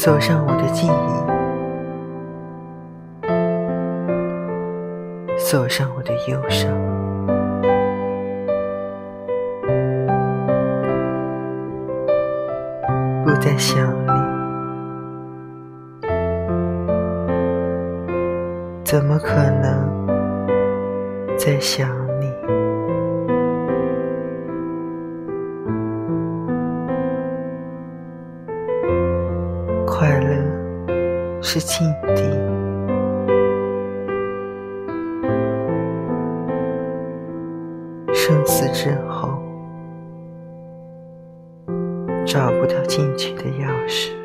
锁上我的记忆，锁上我的忧伤，不再想你，怎么可能再想你？快乐是境地，生死之后找不到进去的钥匙。